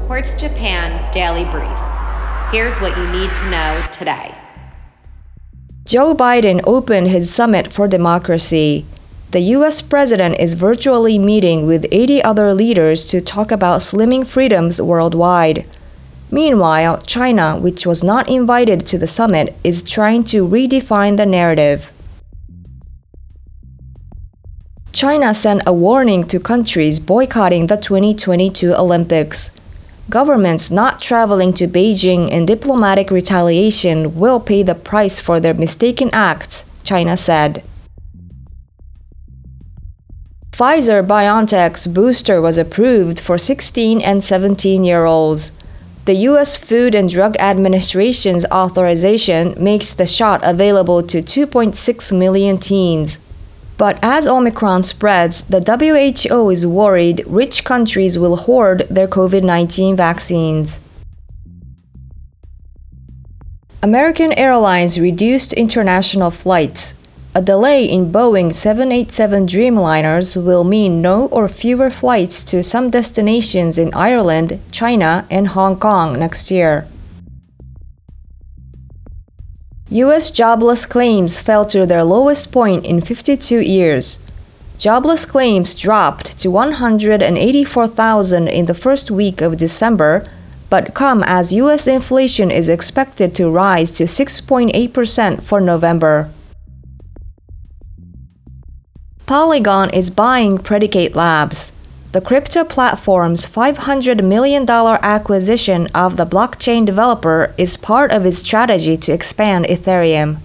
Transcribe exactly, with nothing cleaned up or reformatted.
Quartz Japan Daily Brief. Here's what you need to know today. Joe Biden opened his Summit for Democracy. The U S president is virtually meeting with eighty other leaders to talk about slimming freedoms worldwide. Meanwhile, China, which was not invited to the summit, is trying to redefine the narrative. China sent a warning to countries boycotting the twenty twenty-two Olympics. Governments not traveling to Beijing in diplomatic retaliation will pay the price for their mistaken acts, China said. Pfizer-BioNTech's booster was approved for sixteen and seventeen-year-olds. The U S Food and Drug Administration's authorization makes the shot available to two point six million teens. But as Omicron spreads, the W H O is worried rich countries will hoard their COVID nineteen vaccines. American Airlines reduced international flights. A delay in Boeing seven eighty-seven Dreamliners will mean no or fewer flights to some destinations in Ireland, China, and Hong Kong next year. U S jobless claims fell to their lowest point in fifty-two years. Jobless claims dropped to one hundred eighty-four thousand in the first week of December, but come as U S inflation is expected to rise to six point eight percent for November. Polygon is buying Predicate Labs. The crypto platform's five hundred million dollars acquisition of the blockchain developer is part of its strategy to expand Ethereum.